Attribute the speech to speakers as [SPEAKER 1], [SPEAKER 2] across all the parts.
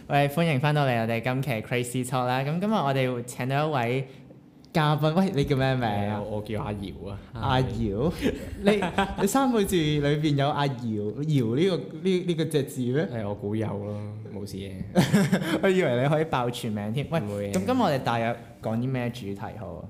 [SPEAKER 1] 喂，歡迎翻到嚟我哋今期 Crazy Talk 啦。咁今日我哋會請到一位嘉賓，喂，你叫咩名啊？
[SPEAKER 2] 我叫阿姚啊。
[SPEAKER 1] 阿姚，你三個字裏邊有阿姚呢個隻字咩？
[SPEAKER 2] 係我估有咯，冇事嘅。
[SPEAKER 1] 我以為你可以爆全名添。喂，
[SPEAKER 2] 唔會嘅
[SPEAKER 1] 咁今日我哋大約講啲咩主題好啊？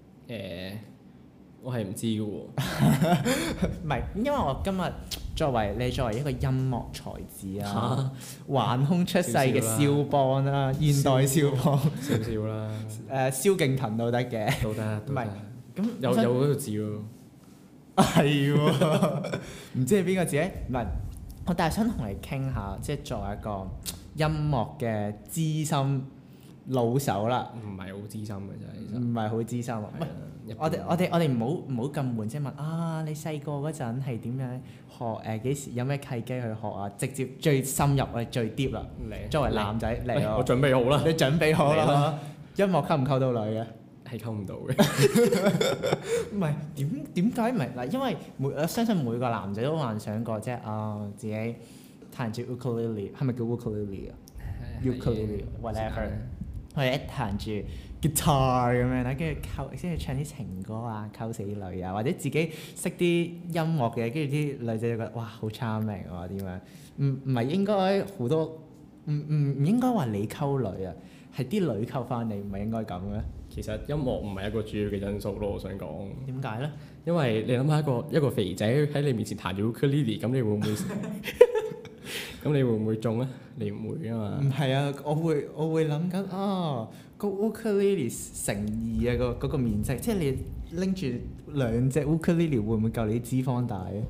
[SPEAKER 2] 我係唔知嘅喎。
[SPEAKER 1] 唔係，因為我今日作為一個音樂才子啊，橫空出世嘅肖邦啦，現代肖邦，
[SPEAKER 2] 少少啦。
[SPEAKER 1] 蕭敬騰都得嘅。
[SPEAKER 2] 都得。
[SPEAKER 1] 唔係，咁
[SPEAKER 2] 有嗰個字喎。
[SPEAKER 1] 係喎，唔知係邊個字咧？唔係，但係想同你傾下，即係作為一個音樂嘅資深老手啦，
[SPEAKER 2] 唔係好資深嘅啫，其實。
[SPEAKER 1] 唔係好資深啊。唔係我哋唔好咁悶，即係問啊，你細個嗰陣係點樣學？幾時有咩契機去學啊？直接最深入我哋最 deep 啦。作為男仔嚟咯，
[SPEAKER 2] 我準備好啦。
[SPEAKER 1] 你準備好
[SPEAKER 2] 嚟
[SPEAKER 1] 啦
[SPEAKER 2] 啦？
[SPEAKER 1] 音樂溝唔溝到女嘅？
[SPEAKER 2] 係溝唔到嘅。
[SPEAKER 1] 唔係點解唔係嗱？因為我相信每個男仔都幻想過，即係自己彈住 ukulele， 係咪叫 ukulele 啊？ukulele whatever，或者彈住 guitar 咁樣啦，跟住唱啲情歌啊，溝死女啊，或者自己識啲音樂嘅，跟住啲女仔就覺得哇好 charming 喎點樣？唔係應該好多唔應該話你溝女啊，係啲女溝翻你，唔係應該咁嘅？
[SPEAKER 2] 其實音樂唔係一個主要嘅因素咯，我想講。
[SPEAKER 1] 點解咧？
[SPEAKER 2] 因為你諗下一個肥仔喺你面前彈住 ukulele，咁你會唔會？咁你會唔會中咧？你唔會啊嘛。
[SPEAKER 1] 唔係啊，我會諗緊個 ukulele 乘二啊嗰個面積，即係你拎住兩隻 ukulele 會唔會夠你脂肪大啊？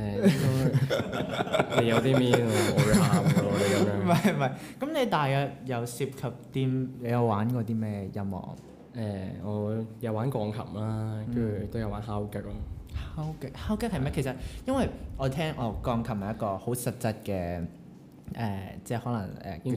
[SPEAKER 2] 你有啲咩啊？我會喊㗎喎，你咁樣。
[SPEAKER 1] 唔係，咁你大約有涉及啲，你有玩過啲咩音樂？
[SPEAKER 2] 我有玩鋼琴啦，跟住都有玩敲擊咯。
[SPEAKER 1] 敲擊係咩？其實因為我聽鋼琴係一個好實質嘅即係可能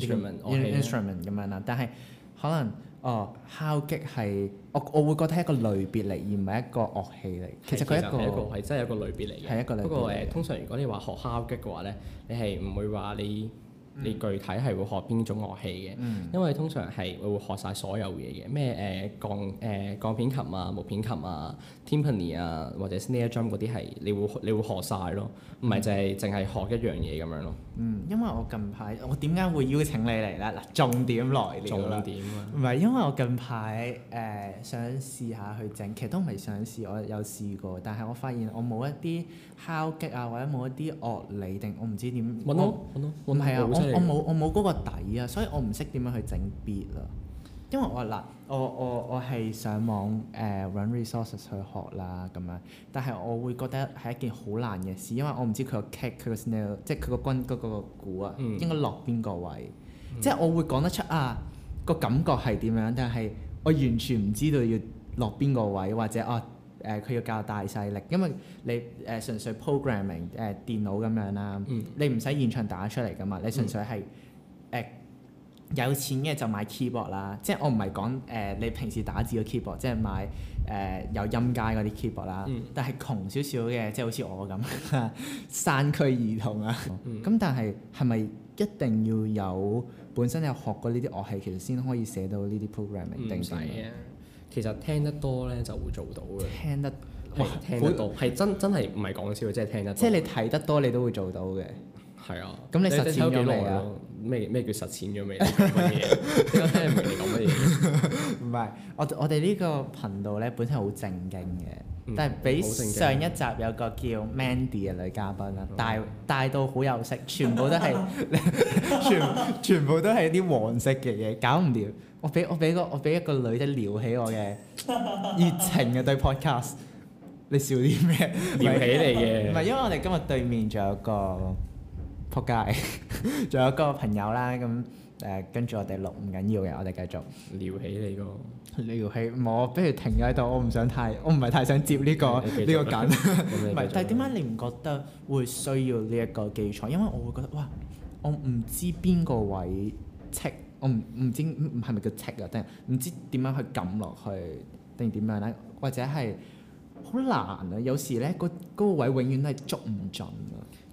[SPEAKER 1] instrument 咁樣啦，但係可能敲擊係我會覺得係一個類別嚟，而唔係一個樂器嚟。其實佢
[SPEAKER 2] 係真係一個類別嚟嘅。
[SPEAKER 1] 係一個類別嚟嘅。
[SPEAKER 2] 不過通常如果你話學敲擊嘅話咧，你係唔會話你具體係會學邊種樂器嘅，因為通常係會學晒所有嘢嘅，咩鋼片琴啊、木片琴啊、timpani 啊或者 snare drum 嗰啲係你會學晒咯，唔係淨係學一樣嘢咁樣咯。
[SPEAKER 1] 因為我近排我點解會邀請你嚟咧？嗱，重點來了啦。
[SPEAKER 2] 重點啊！
[SPEAKER 1] 唔係因為我近排想試下去整，其實都唔係想試，我有試過，但係我發現我冇一啲敲擊啊，或者冇一啲樂理定我唔知點。
[SPEAKER 2] 揾咯，
[SPEAKER 1] 唔係啊，我冇嗰個底啊，所以我唔識點樣去整 beat 啊。因為我係上網揾 resources 去學啦咁樣，但係我會覺得係一件好難嘅事，因為我唔知佢個 kick 佢個 snare 即係佢個軍嗰個鼓啊，應該落邊個位，即係我會講得出個感覺係點樣，但係我完全唔知道要落邊個位，或者佢要較大細力，因為你純粹 programming 電腦咁樣啦，你唔使現場打出嚟噶嘛，你純粹係有錢嘅就買 keyboard 啦，即係我唔係講你平時打字嘅 keyboard，即係買有音階嗰啲 keyboard 啦。但係窮少少嘅，即係好似我咁山區兒童啊。咁但係咪一定要有本身有學過呢啲樂器，其實先可以寫到呢啲 programming 定點？
[SPEAKER 2] 其實聽得多咧就會做到嘅。聽得多係真係唔係講笑，即係聽得多。
[SPEAKER 1] 即係你睇得多，你都會做到嘅。
[SPEAKER 2] 係啊。
[SPEAKER 1] 咁你實踐咗未啊？
[SPEAKER 2] 咩叫實踐咗未？乜嘢？點解聽唔明你講乜嘢？
[SPEAKER 1] 唔係，我哋呢個頻道咧本身好正經嘅，但係比上一集有個叫 Mandy 嘅女嘉賓啦，帶到好有色，全部都係全部都係啲黃色嘅嘢，搞唔掂。我俾一個女仔撩起我嘅熱情嘅對 podcast， 你笑啲咩？
[SPEAKER 2] 撩起嚟嘅。
[SPEAKER 1] 唔係，因為我哋今日對面仲有個仆街，仲有個朋友啦，咁跟住我哋錄唔緊要嘅，我哋繼續
[SPEAKER 2] 撩起你個
[SPEAKER 1] 撩起，我不如停咗喺度，我唔係太想接呢個梗，唔係，但係點解你唔覺得會需要呢一個基礎？因為我會覺得哇，我唔知邊個位剔，我唔知係咪叫剔啊，定係唔知點樣去撳落去定點樣咧，或者係好難啊！有時咧嗰個位永遠都係捉唔準啊！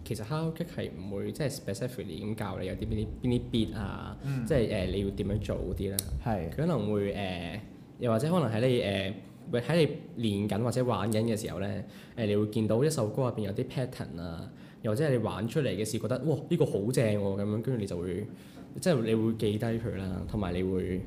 [SPEAKER 2] 其實敲擊係唔會即係 specifically 咁教你有啲邊啲 beat 啊，即係你要點樣做嗰啲啦。
[SPEAKER 1] 係。
[SPEAKER 2] 佢可能會又或者可能喺你練緊或者玩緊嘅時候咧，你會見到一首歌入邊有啲 pattern 啊，又或者係你玩出嚟嘅時覺得哇呢個好正喎咁樣，跟住你就會即係你會記低佢啦，同埋你會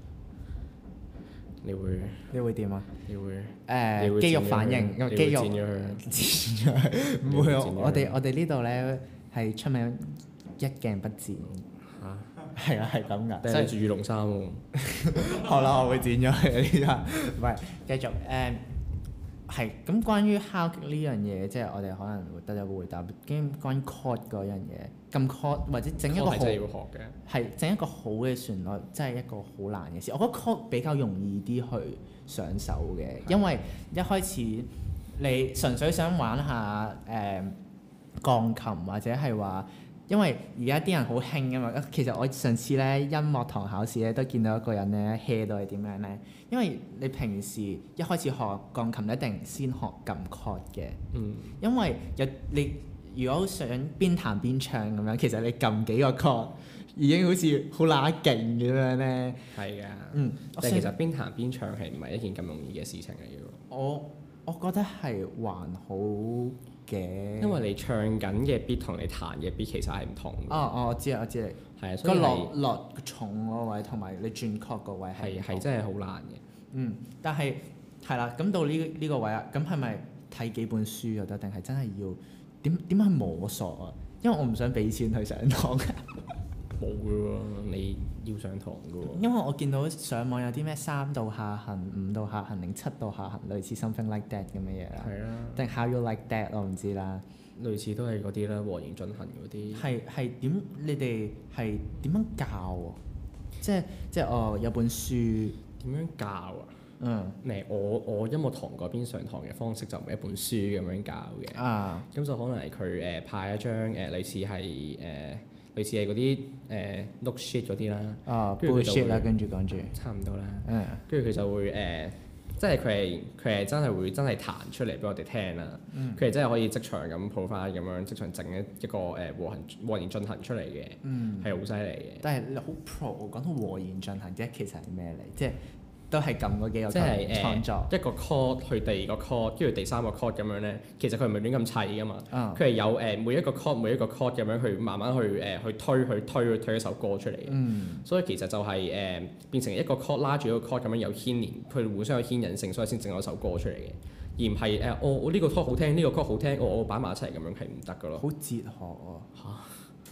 [SPEAKER 1] 點啊？
[SPEAKER 2] 你會
[SPEAKER 1] 肌肉反應，
[SPEAKER 2] 你會
[SPEAKER 1] 肌肉
[SPEAKER 2] 剪咗佢。
[SPEAKER 1] 剪咗佢，唔會我哋呢度咧係出名一鏡不剪。
[SPEAKER 2] 嚇！
[SPEAKER 1] 係啊，係咁㗎。
[SPEAKER 2] 但係你住羽絨衫喎。
[SPEAKER 1] 好啦，我會剪咗佢呢家。唔係，繼續係咁。關於敲擊呢樣嘢，即係我哋可能會得有個回答。關於 chord 嗰樣嘢，撳 chord 或者整一個好，
[SPEAKER 2] 真係要學嘅。
[SPEAKER 1] 係整一個好嘅旋律，真係一個好難嘅事。我覺得 chord 比較容易啲去上手嘅，因為一開始你純粹想玩下鋼琴或者係話。因為而家啲人好興㗎嘛，其實我上次咧音樂堂考試咧都見到一個人咧 hea 到係點樣咧？因為你平時一開始學鋼琴一定先學撳 chord 嘅，因為你如果想邊彈邊唱咁樣，其實你撳幾個 chord 已經好似好乸勁咁樣咧。
[SPEAKER 2] 係㗎。但係其實邊彈邊唱係唔係一件咁容易嘅事情嚟嘅喎？
[SPEAKER 1] 我覺得係還好嘅，
[SPEAKER 2] 因為你唱緊嘅 beat 同你彈嘅 beat 其實係唔同嘅。
[SPEAKER 1] 我知你。
[SPEAKER 2] 係啊，所以
[SPEAKER 1] 落重嗰位同埋你轉 chord 嗰位
[SPEAKER 2] 係真係好難嘅。
[SPEAKER 1] 但係係啦，咁到呢個位啊，咁係咪睇幾本書就得，定係真係要點去摸索啊？因為我唔想俾錢去上堂。
[SPEAKER 2] 冇嘅喎，你要上堂嘅喎。
[SPEAKER 1] 因為我見到上網有啲咩3度下行、5度下行定7度下行，類似 something like that 咁嘅嘢啦。
[SPEAKER 2] 係啊。
[SPEAKER 1] 定 how you like that 我唔知啦。
[SPEAKER 2] 類似都係嗰啲啦，和弦進行嗰啲。
[SPEAKER 1] 係點？你哋係點樣教喎？即係有本書
[SPEAKER 2] 點樣教啊？我音樂堂嗰邊上堂嘅方式就唔係一本書咁樣教嘅。咁就可能係佢派一張類似係嗰啲note sheet 嗰啲啦。
[SPEAKER 1] bullshit 啦，跟住講住。
[SPEAKER 2] 差唔多啦。跟住佢就會即係佢係真係會真係彈出嚟俾我哋聽啦。佢係真係可以即場咁 provide 咁樣即場整一個和弦進行出嚟嘅，係好犀利嘅。
[SPEAKER 1] 但係你好 pro 講到和弦進行啫，其實係咩嚟？即係都係撳嗰幾個
[SPEAKER 2] 即係
[SPEAKER 1] 創作
[SPEAKER 2] 一個 chord 去第二個 chord，跟住第三個 chord 咁樣咧。其實佢唔係亂咁砌噶嘛。佢係有每一個 chord 咁樣去慢慢去推一首歌出嚟嘅。所以其實就係變成一個 chord 拉住一個 chord 咁樣有牽連，佢互相有牽引性，所以先整咗首歌出嚟嘅。而唔係我呢個 chord 好聽，呢個 chord 好聽，我擺埋一齊咁樣係唔得噶咯。
[SPEAKER 1] 好哲學啊！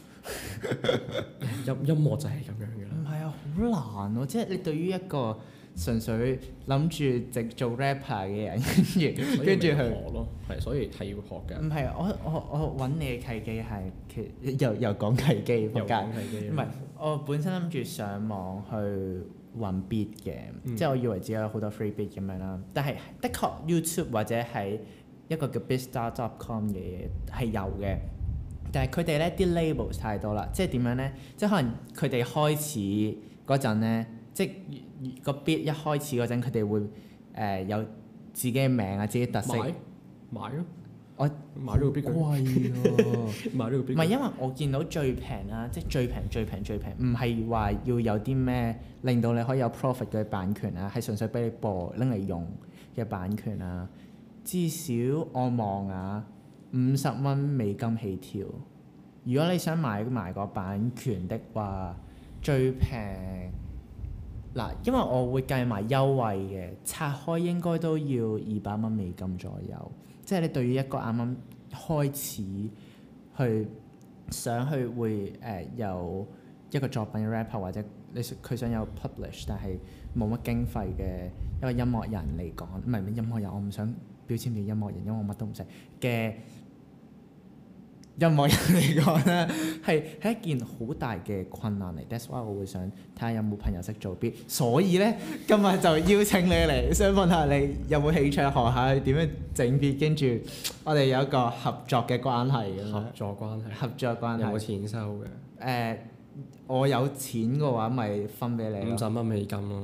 [SPEAKER 2] 音樂就係咁樣嘅啦。
[SPEAKER 1] 唔係啊，好難喎！即係你對於一個純粹諗住直做 rapper 嘅人，跟住去
[SPEAKER 2] 學咯，係所以係要學㗎。
[SPEAKER 1] 唔係我揾你嘅契機係又講契機，
[SPEAKER 2] 又講契機。
[SPEAKER 1] 唔係我本身諗住上網去揾 beat 嘅，即係我以為自己有好多 free beat 咁樣啦。但係的確 YouTube 或者係一個叫 beatstar.com 嘅嘢係有嘅，但係佢哋咧啲 labels 太多啦，即係點樣咧？即係可能佢哋開始嗰陣咧，即係個 beat 一開始嗰陣，佢哋會有自己嘅名啊，自己特色。
[SPEAKER 2] 買咯！
[SPEAKER 1] 我
[SPEAKER 2] 買咗個 beat
[SPEAKER 1] 貴喎，
[SPEAKER 2] 買咗個 beat。
[SPEAKER 1] 唔係因為我見到最平啦，即係最平，唔係話要有啲咩令到你可以有 profit 嘅版權啊，係純粹俾你播拎嚟用嘅版權啊。至少我望啊，50蚊美金起跳。如果你想買埋個版權的話，最平嗱，因為我會計埋優惠嘅，拆開應該都要200蚊美金左右。即係你對於一個啱啱開始去想去會有一個作品嘅 rapper 或者佢想有 publish 但係冇乜經費嘅一個音樂人嚟講，唔係音樂人，我唔想標籤你音樂人，因為我乜都唔識嘅音樂人嚟講咧，係一件好大嘅困難嚟。That's why 我會想睇下有冇朋友識做 beat，所以咧今日就邀請你嚟，想問下你有冇興趣學下點樣整 beat，跟住我哋有一個合作嘅關係咁樣。合作關係。
[SPEAKER 2] 有冇錢收嘅？
[SPEAKER 1] 我有錢嘅話，咪分俾你咯。
[SPEAKER 2] 50蚊美金咯。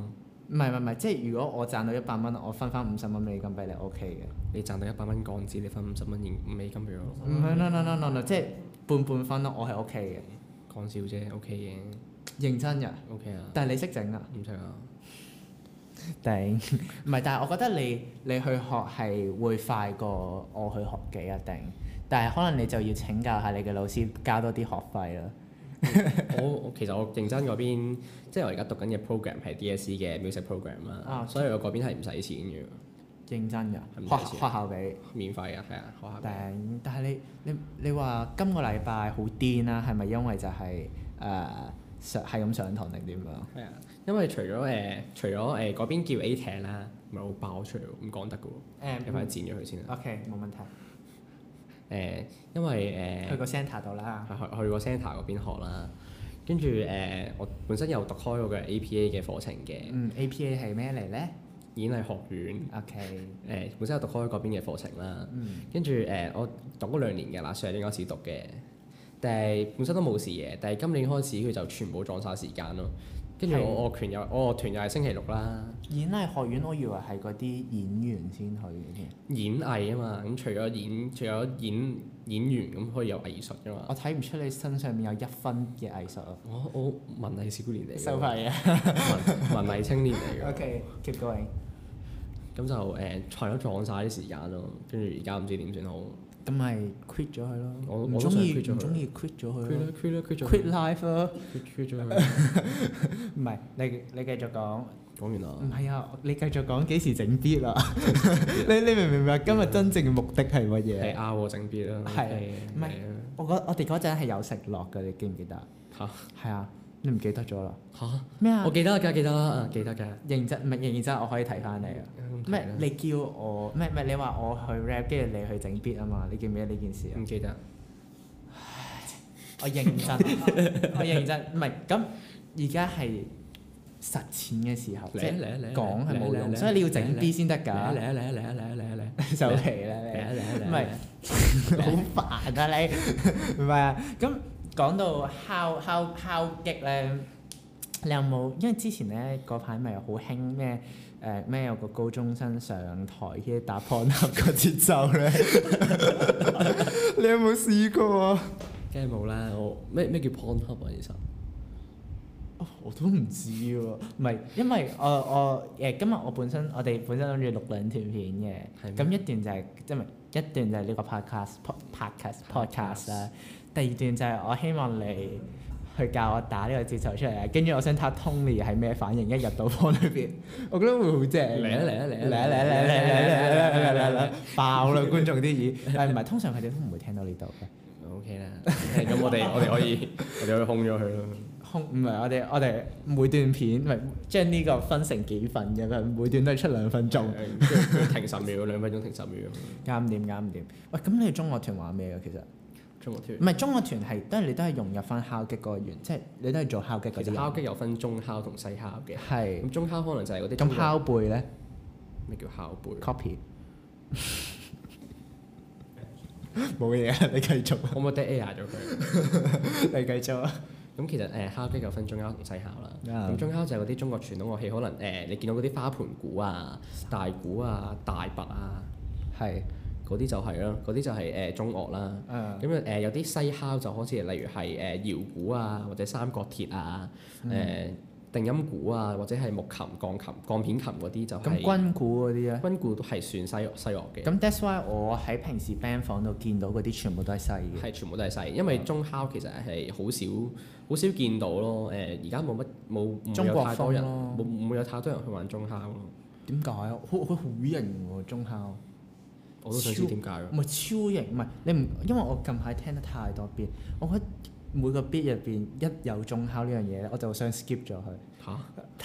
[SPEAKER 1] 唔係，即係如果我賺到100蚊，我分翻50蚊美金俾你 OK 嘅。
[SPEAKER 2] 你賺到100蚊港紙，你分50蚊美金俾我。
[SPEAKER 1] 唔係，no，即係半分咯，我係 OK
[SPEAKER 2] 講笑啫，OK 嘅。
[SPEAKER 1] 嘅。認真㗎。
[SPEAKER 2] OK 啊。
[SPEAKER 1] 但係你識整啊？
[SPEAKER 2] 唔識啊。
[SPEAKER 1] 頂，唔係，但係我覺得你去學係會快過我去學嘅一定，但係可能你就要請教下你嘅老師，交多啲學費啦。
[SPEAKER 2] 我其實我認真嗰邊，即係我而家讀緊嘅 program 係 DSE 嘅 music program 啦，所以我嗰邊係唔使錢嘅。
[SPEAKER 1] 認真㗎？學校俾
[SPEAKER 2] 免費啊，係啊，學校俾。
[SPEAKER 1] 頂，但係你話今個禮拜好癲啦，係咪因為就係係咁上堂定點樣？
[SPEAKER 2] 係啊，因為除咗嗰邊叫 A-Tech 啦，唔係好爆出嚟喎，唔講得嘅喎。你快啲剪咗佢先啦。
[SPEAKER 1] OK，冇問題。
[SPEAKER 2] 因為
[SPEAKER 1] 去個 centre 度啦。
[SPEAKER 2] 去個 centre 嗰邊學啦，跟住我本身有讀開嗰個 APA 嘅課程嘅。
[SPEAKER 1] APA 係咩嚟咧？
[SPEAKER 2] 演藝學院。
[SPEAKER 1] OK。
[SPEAKER 2] 本身有讀開嗰邊嘅課程啦。跟住我讀咗2年嘅啦，上年開始讀嘅，但係本身都冇事嘅，但係今年開始佢就全部撞晒時間咯。跟住我樂團又係星期6啦。
[SPEAKER 1] 演藝學院我以為係嗰啲演員先去嘅添。
[SPEAKER 2] 演藝啊嘛，咁除咗演員咁可以有藝術噶嘛。
[SPEAKER 1] 我睇唔出你身上面有1分嘅藝術啊！
[SPEAKER 2] 我文藝少年嚟嘅。
[SPEAKER 1] 收費啊！
[SPEAKER 2] 文藝青年嚟嘅。
[SPEAKER 1] OK，keep going。咁
[SPEAKER 2] 就係咗撞晒啲時間咯，跟住而家唔知點算好。
[SPEAKER 1] 咁咪 quit 咗佢咯。
[SPEAKER 2] 我
[SPEAKER 1] 唔中意 quit 咗佢咯。quit life 咯。
[SPEAKER 2] quit 咗佢。
[SPEAKER 1] 唔係，你繼續講。
[SPEAKER 2] 講完啦。
[SPEAKER 1] 唔係啊，你繼續講幾時整 beat 啊？你明唔明白今日真正嘅目的係乜嘢？
[SPEAKER 2] 係拗整 beat 啦。
[SPEAKER 1] 係。唔係，我哋嗰陣係有食落㗎，你記唔記得？
[SPEAKER 2] 嚇。係
[SPEAKER 1] 啊。你唔記得咗啦？
[SPEAKER 2] 嚇
[SPEAKER 1] 咩啊？
[SPEAKER 2] 我記得㗎，記得啦，記得㗎。
[SPEAKER 1] 認真，我可以提翻你啊！咩？你叫我咩？你話我去 rap， 跟住你去整 beat 啊嘛？你記唔記得呢件事啊？
[SPEAKER 2] 唔記得。
[SPEAKER 1] 我認真，唔係咁而家係實踐嘅時候，即係講係冇用，所以你要整 beat 先得㗎。嚟收皮啦！唔係好煩啊你，唔係啊咁。講到敲擊咧，你有冇？因為之前咧嗰排咪好興咩有個高中生上台嘅打 Pornhub 個節奏咧，你有冇試過啊？
[SPEAKER 2] 梗係冇啦！咩叫 Pornhub 啊？其實
[SPEAKER 1] 我都唔知喎，唔係因為今日我哋本身諗住錄2段片嘅，咁一段就係一段就係呢個 podcast 啦。第2段就係我希望你去教我打呢個節奏出嚟啊，跟住我想睇下 Tony 係咩反應，一入到房裏邊，我覺得會好正。嚟爆啦觀眾啲耳，但係唔係通常佢哋都唔會聽到呢度嘅。
[SPEAKER 2] OK 啦，咁我哋可以空咗佢咯。
[SPEAKER 1] 唔係我哋每段片咪將呢個分成幾份嘅，每段都係出2分鐘，
[SPEAKER 2] 停10秒，2分鐘停10秒。
[SPEAKER 1] 啱唔掂？喂，咁你中樂團玩咩㗎？其實
[SPEAKER 2] 中樂團
[SPEAKER 1] 唔係中樂團係你都係融入翻敲擊嗰個元，即係你都係做敲擊嗰啲。
[SPEAKER 2] 其實敲擊有分中敲同西敲嘅。
[SPEAKER 1] 係。
[SPEAKER 2] 咁中敲可能就係嗰啲。
[SPEAKER 1] 咁敲背咧？
[SPEAKER 2] 咩叫敲背
[SPEAKER 1] ？Copy。冇嘢啊！你繼續。
[SPEAKER 2] 可唔可以 dead air 咗佢？
[SPEAKER 1] 你繼續啊！
[SPEAKER 2] 咁其實敲擊有分中敲同西敲啦。咁中敲就係嗰啲中國傳統樂器，可能你見到嗰啲花盤鼓啊、大鼓啊、大鈸啊，
[SPEAKER 1] 係
[SPEAKER 2] 嗰啲就係咯，嗰啲就係中樂啦。咁有啲西敲就好似例如係搖鼓啊，或者三角鐵啊，定音鼓啊，或者係木琴、鋼琴、鋼片琴嗰啲就係。咁
[SPEAKER 1] 軍鼓嗰啲咧？
[SPEAKER 2] 軍鼓都係算西樂嘅。
[SPEAKER 1] 咁 that's why 我喺平時 band 房度見到嗰啲全部都係西嘅。
[SPEAKER 2] 係全部都係西，因為中敲其實係好少見到咯。而家冇有太多人，冇有太多人去玩中敲咯。點解啊？
[SPEAKER 1] 佢好型喎中敲。
[SPEAKER 2] 我都想知點解喎。
[SPEAKER 1] 唔係超型，唔係你唔，因為我近排聽得太多 beat，我覺得每個 beat 入邊一有中敲呢樣嘢咧，我就想 skip 咗佢。嚇！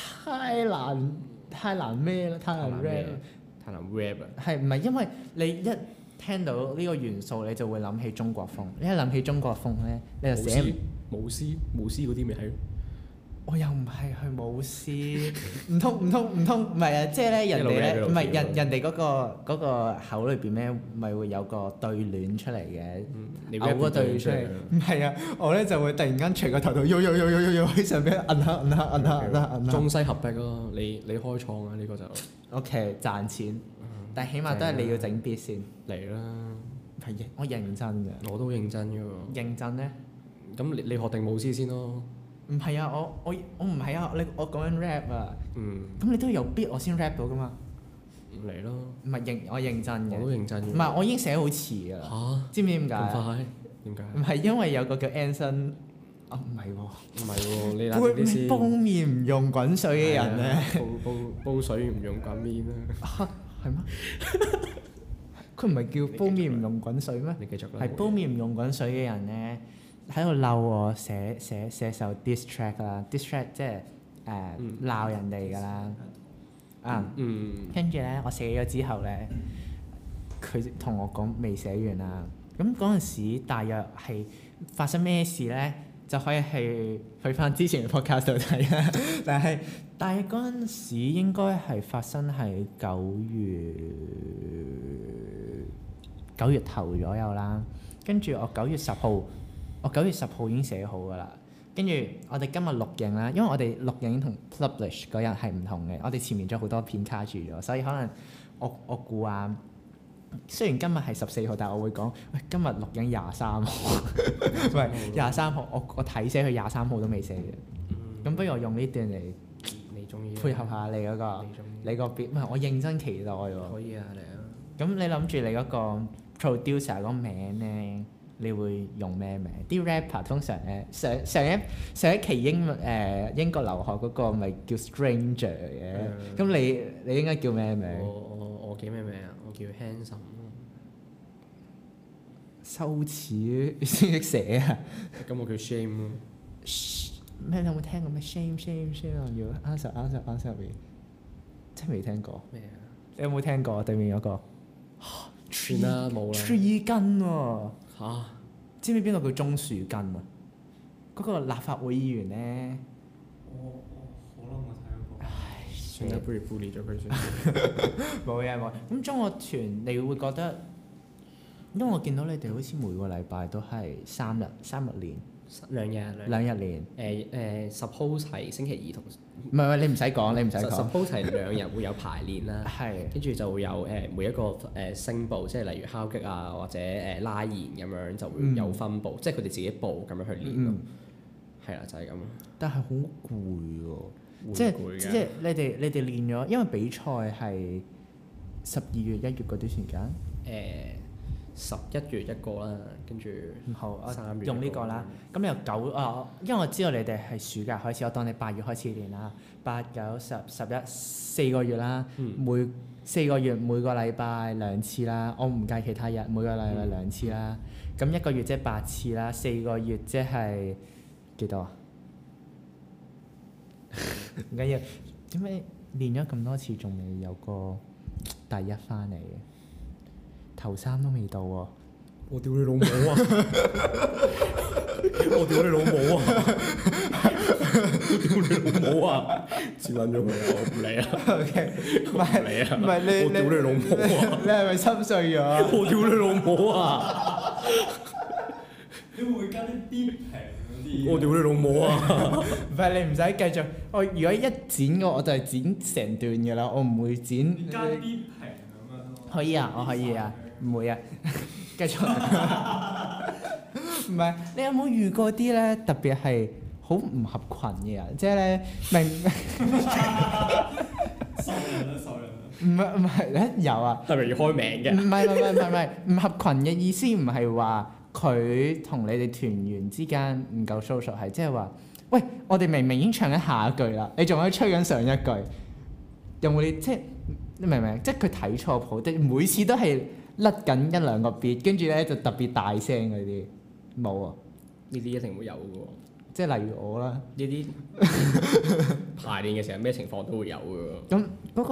[SPEAKER 1] 太難咩啦？太難 rap。
[SPEAKER 2] 太難 rap 啊！
[SPEAKER 1] 係唔係因為你一聽到呢個元素，你就會諗起中國風。你一諗起中國風咧，你就寫
[SPEAKER 2] 巫師嗰啲咪係咯。
[SPEAKER 1] 我又唔係去舞獅，唔通唔係啊！即係咧人哋咧唔係人哋嗰個口裏邊咧，咪會有個對聯出嚟嘅，嘔個對出嚟。唔係啊，我咧就會突然間除個頭度，喐喺上邊摁下。
[SPEAKER 2] 中西合璧咯，你開創啊呢個就。
[SPEAKER 1] OK 賺錢，但係起碼都係你要整 beat 先。
[SPEAKER 2] 嚟啦！
[SPEAKER 1] 係我認真嘅。
[SPEAKER 2] 我都認真㗎喎。
[SPEAKER 1] 認真咧？
[SPEAKER 2] 咁你學定舞獅先咯。
[SPEAKER 1] 唔係啊，我唔係啊，我講緊 rap 啊。咁你都要有 beat 我先 rap 到噶嘛？
[SPEAKER 2] 嚟咯。
[SPEAKER 1] 唔係我認真嘅。
[SPEAKER 2] 我都認真嘅。
[SPEAKER 1] 唔係，我已經寫好詞㗎啦。
[SPEAKER 2] 嚇？
[SPEAKER 1] 知唔知點解？
[SPEAKER 2] 咁快？點解？
[SPEAKER 1] 唔係因為有個叫 Anson，唔係喎。
[SPEAKER 2] 唔係喎，你諗啲先。
[SPEAKER 1] 煲麵唔用滾水嘅人咧。
[SPEAKER 2] 煲水唔用滾麵啦。
[SPEAKER 1] 嚇係咩？佢唔係叫煲麵唔用滾水咩？
[SPEAKER 2] 你繼續啦。
[SPEAKER 1] 係煲麵唔用滾水嘅人咧。喺度嬲我寫首 diss track 啦，diss track 即係鬧人哋㗎啦，跟住咧我寫咗之後咧，佢同我講未寫完啦。咁嗰陣時大約係發生咩事咧，就可以去翻之前嘅 podcast 度睇啦。但係嗰陣時應該係發生喺9月頭左右啦。跟住我9月10號已經寫好㗎啦，跟住我哋今日錄影啦，因為我哋錄影同 publish 嗰日係唔同嘅，我哋前面仲有好多片卡住咗，所以可能我估啊，雖然今日係14號，但係我會講，喂，今日錄影23號，唔係23號，我睇寫佢23號都未寫嘅，咁不如我用呢段嚟
[SPEAKER 2] 你中意
[SPEAKER 1] 配合下你嗰個你個 beat，唔係我認真期待喎。
[SPEAKER 2] 可以啊，嚟啊！
[SPEAKER 1] 咁你諗住你嗰個 producer 嗰個名咧？你會用咩名？啲 rapper 通常咧上一期英國留學嗰個咪叫 Stranger 嘅，咁你應該叫咩名？
[SPEAKER 2] 我叫咩名啊？我叫 Handsome。
[SPEAKER 1] 羞恥先識寫啊！
[SPEAKER 2] 咁我叫 Shame 咯。
[SPEAKER 1] 咩？你有冇聽過咩 Shame 要 answer 真係未聽過。
[SPEAKER 2] 咩啊？
[SPEAKER 1] 你有冇聽過對面嗰個？
[SPEAKER 2] 算啦，冇啦。
[SPEAKER 1] Tree 根喎。
[SPEAKER 2] 嚇！
[SPEAKER 1] 知唔知邊個叫鍾樹根啊？嗰個立法會議員咧。
[SPEAKER 3] 我好耐冇睇過。
[SPEAKER 1] 唉，
[SPEAKER 2] 算啦，不如 bully 咗佢先。
[SPEAKER 1] 冇嘢冇。咁中樂團你會覺得，因為我見到你哋好似每個禮拜都係3日練。
[SPEAKER 2] 兩日
[SPEAKER 1] 練。
[SPEAKER 2] suppose 係星期二同。
[SPEAKER 1] 唔係你唔使講，你唔使講。
[SPEAKER 2] suppose 係2日會有排練啦。
[SPEAKER 1] 係。
[SPEAKER 2] 跟住就會有每一個聲部，即係例如敲擊啊或者拉弦咁樣就會有分部，即係佢哋自己部咁樣去練咯。係啦，就係咁。但係好攰喎，即係你哋練咗，因為比賽係12月1月嗰段時間。11月一個啦，跟住好3月用呢個啦。咁你由因為我知道你哋係暑假開始，我當你8月開始練啦。8、9、10、11 4個月啦，每4個月每個禮拜2次啦。我唔計其他日，每個禮拜2次啦。咁1個月即係8次啦，4個月即係幾多啊？唔緊要，點解練咗咁多次仲未有個第一翻嚟嘅？頭3都未到喎！我屌你老母啊！我屌你老母啊！我屌你老母啊！接撚咗佢啊！我唔理啊！OK， 唔係你，我屌你老母啊！你係咪心碎咗？我屌你老母啊！
[SPEAKER 3] 你會唔會加啲啲平嗰啲？
[SPEAKER 1] 我屌你老母啊！唔係你唔使繼續，我如果一剪嘅我就係剪成段嘅啦，我唔會剪。
[SPEAKER 3] 你加啲平咁樣咯。
[SPEAKER 1] 可以啊，我可以啊。唔會啊，繼續。唔係，你有冇遇過啲咧特別係好唔合群嘅人？即係咧明。
[SPEAKER 3] 受人啦，受人啦。
[SPEAKER 1] 唔係咧有啊。
[SPEAKER 2] 係咪要開名嘅？
[SPEAKER 1] 唔係，唔合群嘅意思唔係話佢同你哋團員之間唔夠 social，係即係話，喂，我哋明明已經唱緊下一句啦，你仲喺度吹緊上一句，有冇啲即係你明唔明？即係佢睇錯譜，即係每次都係。甩緊1-2個 beat，跟住咧就特別大聲嗰啲，冇啊！
[SPEAKER 2] 呢啲一定會有嘅喎。
[SPEAKER 1] 即係例如我啦，
[SPEAKER 2] 呢啲排練嘅時候咩情況都會有嘅喎。
[SPEAKER 1] 咁嗰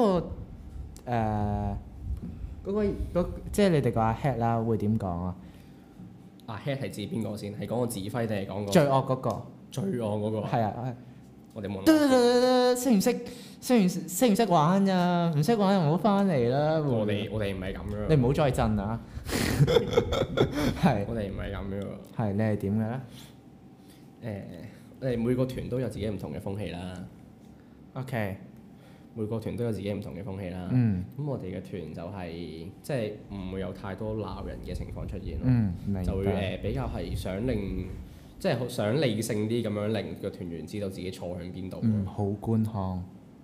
[SPEAKER 1] 個即係你哋個阿 head 啦，會點講啊？
[SPEAKER 2] 阿 head 係指邊個先？係講個指揮定係講個？
[SPEAKER 1] 最惡嗰個。
[SPEAKER 2] 最惡嗰個。
[SPEAKER 1] 係啊，
[SPEAKER 2] 我哋冇。
[SPEAKER 1] 識唔識玩咋？唔識玩就唔好翻嚟啦。
[SPEAKER 2] 我哋唔係咁樣。
[SPEAKER 1] 你唔好再震啊！係。
[SPEAKER 2] 我哋唔係咁樣。
[SPEAKER 1] 係，你係點嘅咧？
[SPEAKER 2] 我哋每個團都有自己唔同嘅風氣啦。
[SPEAKER 1] OK。
[SPEAKER 2] 每個團都有自己唔同嘅風氣啦。咁我哋嘅團就係即係唔會有太多鬧人嘅情況出現咯。
[SPEAKER 1] 明白。
[SPEAKER 2] 就會比較係想令即係想理性啲咁樣令個團員知道自己錯向邊度。
[SPEAKER 1] 好官腔。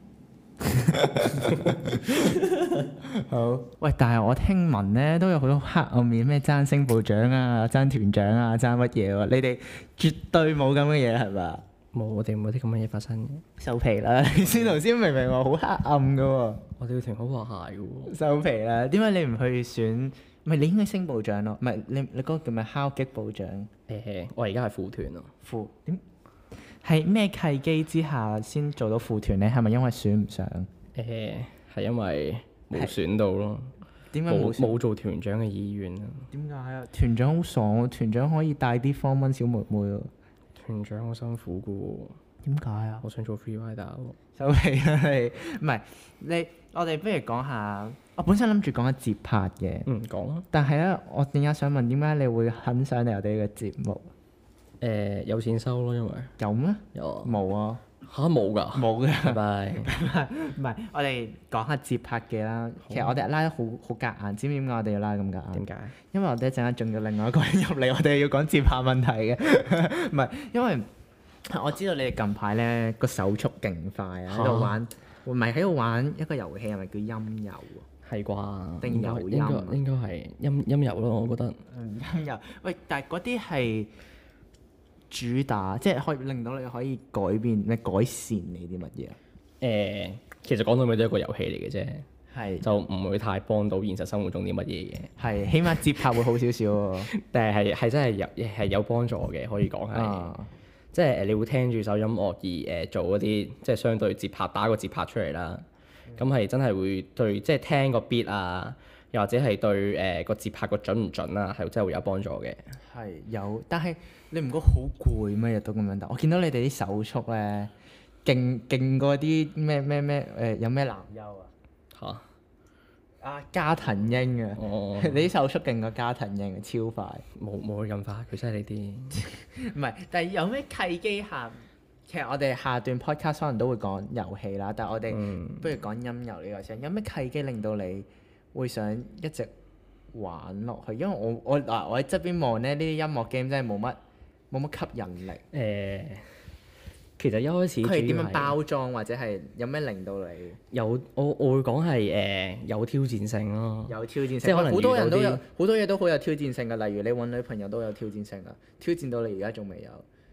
[SPEAKER 1] 好。喂，但係我聽聞咧都有好多黑暗面，咩爭星部長啊、爭團長啊、爭乜嘢喎？你哋絕對冇咁嘅嘢係嘛？
[SPEAKER 2] 冇，我哋冇啲咁嘅嘢發生嘅。
[SPEAKER 1] 收皮啦！你先頭先明明話好黑暗嘅喎。
[SPEAKER 2] 我哋個團好和諧嘅喎。
[SPEAKER 1] 收皮啦！點解你唔去選？唔係你應該升部長咯，唔係你嗰個叫咩敲擊部長？
[SPEAKER 2] 我而家係副團咯。
[SPEAKER 1] 副點？係咩契機之下先做到副團咧？係咪因為選唔上？
[SPEAKER 2] 係因為冇選到咯。
[SPEAKER 1] 點解
[SPEAKER 2] 冇做團長嘅意願啊？
[SPEAKER 1] 點解啊？團長好爽喎！團長可以帶啲Form 1小妹妹喎。
[SPEAKER 2] 團長好辛苦嘅喎。點解啊？我想做 free rider 喎。
[SPEAKER 1] 收皮啦你！唔係你，我哋不如講下。我本身諗住講下節拍嘅。
[SPEAKER 2] 講啊。
[SPEAKER 1] 但係咧，我點解想問點解你會肯上嚟我哋嘅節目？
[SPEAKER 2] 有錢收咯，因為。
[SPEAKER 1] 有咩？
[SPEAKER 2] 有啊。
[SPEAKER 1] 冇啊。
[SPEAKER 2] 嚇冇㗎。
[SPEAKER 1] 冇嘅。
[SPEAKER 2] 拜拜。
[SPEAKER 1] 唔係，我哋講下節拍嘅啦。其實我哋拉得好夾硬，知唔知點解我哋要拉咁夾硬？
[SPEAKER 2] 點解？
[SPEAKER 1] 因為我哋一陣間仲有另外一個人入嚟，我哋要講節拍問題嘅。唔係，因為我知道你哋近排咧個手速勁快啊，喺度玩，唔係喺度玩一個遊戲，係咪叫音遊啊？
[SPEAKER 2] 係啩？
[SPEAKER 1] 定遊音？
[SPEAKER 2] 應該係音遊咯，我覺得。
[SPEAKER 1] 音遊。喂，但係嗰啲係主打，即係可以令到你可以改變、改善你啲乜嘢啊？
[SPEAKER 2] 其實講到尾都係一個遊戲嚟嘅啫。
[SPEAKER 1] 係。就
[SPEAKER 2] 唔會太幫到現實生活中啲乜嘢嘅。
[SPEAKER 1] 係，起碼節拍會好少少喎。
[SPEAKER 2] 但係真係有幫助嘅，可以講係。即係你會聽住首音樂而做嗰啲即係相對節拍打個節拍出嚟啦。咁係真係會對即係聽個 beat 啊，又或者係對個節拍個準唔準啊，係真係會有幫助嘅。
[SPEAKER 1] 係有，但係你唔覺得好攰咩？日都咁樣打，我見到你哋啲手速咧，勁過啲咩有咩男優啊？
[SPEAKER 2] 嚇！
[SPEAKER 1] 加藤鷹啊！你啲手速勁過加藤鷹啊，超快！
[SPEAKER 2] 冇佢咁快，佢真係呢啲。
[SPEAKER 1] 唔係，但係有咩契機下？其實我哋下段 podcast 可能都會講遊戲啦，但係我哋不如講音遊呢個先。有咩契機令到你會想一直玩落去？因為我喺側邊望咧，呢啲音樂 game 真係冇乜吸引力。
[SPEAKER 2] 其實一開始
[SPEAKER 1] 佢係點樣包裝，或者係有咩令到你
[SPEAKER 2] 我會講係有挑戰性咯。
[SPEAKER 1] 有挑戰性，
[SPEAKER 2] 即係可能
[SPEAKER 1] 好多人都有好多嘢都好有挑戰性㗎。例如你揾女朋友都有挑戰性㗎，挑戰到你而家仲未有。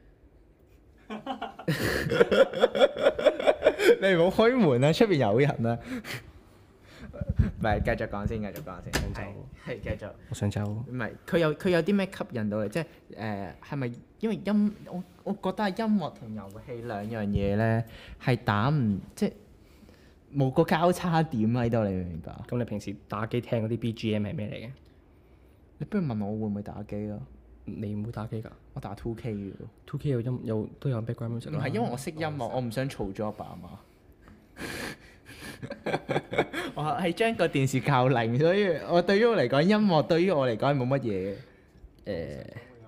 [SPEAKER 1] 你唔好開門啊！出邊有人啊！唔係，繼續講先。
[SPEAKER 2] 想走。
[SPEAKER 1] 係繼續。
[SPEAKER 2] 我想走。
[SPEAKER 1] 唔係，佢有啲咩吸引到你？即係係咪因為我覺得係音樂同遊戲兩樣嘢咧，係打唔即係冇個交叉點喺度，你明唔明白？
[SPEAKER 2] 咁你平時打機聽嗰啲 BGM 係咩嚟嘅？
[SPEAKER 1] 你不如問我會唔會打機咯？
[SPEAKER 2] 你唔會打機㗎？
[SPEAKER 1] 我打 2K 嘅喎。
[SPEAKER 2] 2K 都有 background music。
[SPEAKER 1] 唔係因為我識音樂，我唔想嘈咗阿爸阿媽。我係將個電視校零，所以我對於我嚟講，音樂對於我嚟講係冇乜嘢嘅。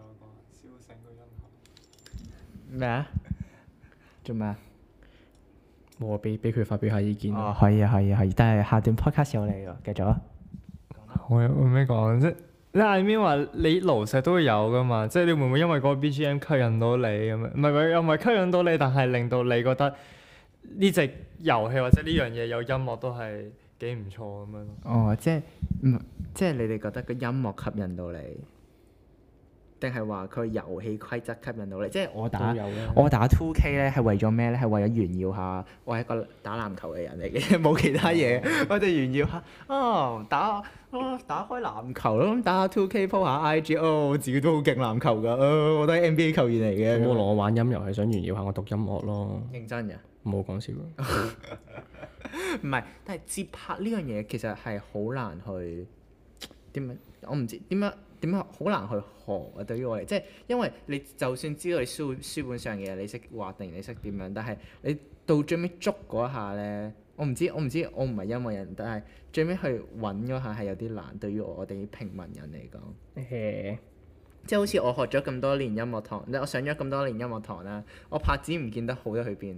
[SPEAKER 1] 咩啊？做咩啊？
[SPEAKER 2] 我俾佢發表下意見。
[SPEAKER 1] 哦，可以，但係下段 podcast 有你喎，繼續啊。
[SPEAKER 3] 我有咩講啫？你係咪話你爐石都會有噶嘛？即係你會唔會因為嗰個 BGM 吸引到你咁樣？唔係又唔係吸引到你，但係令到你覺得呢隻遊戲或者呢樣嘢有音樂都係幾唔錯咁樣咯。
[SPEAKER 1] 哦，即係你哋覺得個音樂吸引到你，定係話佢遊戲規則吸引到你？即係我打 2K 咧係為咗咩咧？係為咗炫耀下我係一個打籃球嘅人嚟嘅，冇其他嘢。我哋炫耀下打開籃球咯，打下 2K po 下 IG，我自己都好勁籃球㗎，我都係 NBA 球員嚟嘅。
[SPEAKER 2] 咁我玩音遊係想炫耀下我讀音樂咯。
[SPEAKER 1] 認真㗎？
[SPEAKER 2] 冇講笑。
[SPEAKER 1] 唔係，但係節拍呢樣嘢其實係好難去點樣？我唔知點樣點樣好難去學啊！對於我嚟，即係因為你就算知道你書本上嘅嘢，你識畫定你識點樣，但係你到最尾捉嗰下咧，我唔知，我唔係音樂人，但係最尾去揾嗰下係有啲難，對於我哋平民人嚟講。即係好似我學咗咁多年音樂堂，我上咗咁多年音樂堂啦，我拍子唔見得好得去邊。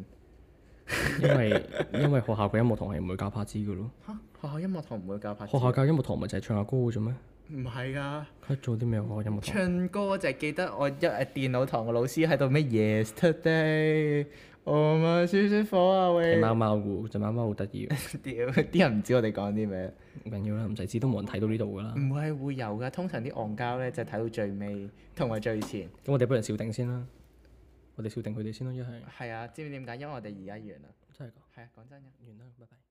[SPEAKER 2] 因為學校嘅音樂堂係唔會教拍子嘅咯。
[SPEAKER 1] 嚇！學校音樂堂唔會教拍子。
[SPEAKER 2] 學校教音樂堂咪就係唱下歌嘅啫咩？
[SPEAKER 1] 唔係㗎。
[SPEAKER 2] 佢做啲咩學音樂堂？
[SPEAKER 1] 唱歌就係記得我電腦堂嘅老師喺度咩 Yesterday，我咪舒舒火啊喂。
[SPEAKER 2] 係貓貓嘅，隻貓貓好得意嘅。
[SPEAKER 1] 屌！啲人唔知我哋講啲咩。
[SPEAKER 2] 唔緊要啦，唔使知都冇人睇到呢度㗎啦。
[SPEAKER 1] 唔係會有㗎，通常啲戇膠咧就睇到最尾同埋最前。
[SPEAKER 2] 咁我哋不如笑定先啦。我哋笑定佢哋先咯，一係。
[SPEAKER 1] 係啊，知唔知點解？因為我哋而家完啦。
[SPEAKER 2] 真係㗎。
[SPEAKER 1] 係啊，講真嘅。
[SPEAKER 2] 完啦，拜拜。